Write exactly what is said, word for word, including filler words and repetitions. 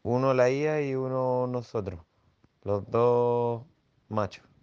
Uno la I A y uno nosotros, los dos machos.